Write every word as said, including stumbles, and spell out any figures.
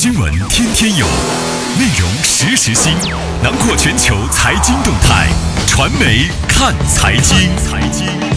新闻天天有，内容实时新，囊括全球财经动态，传媒看财经。财经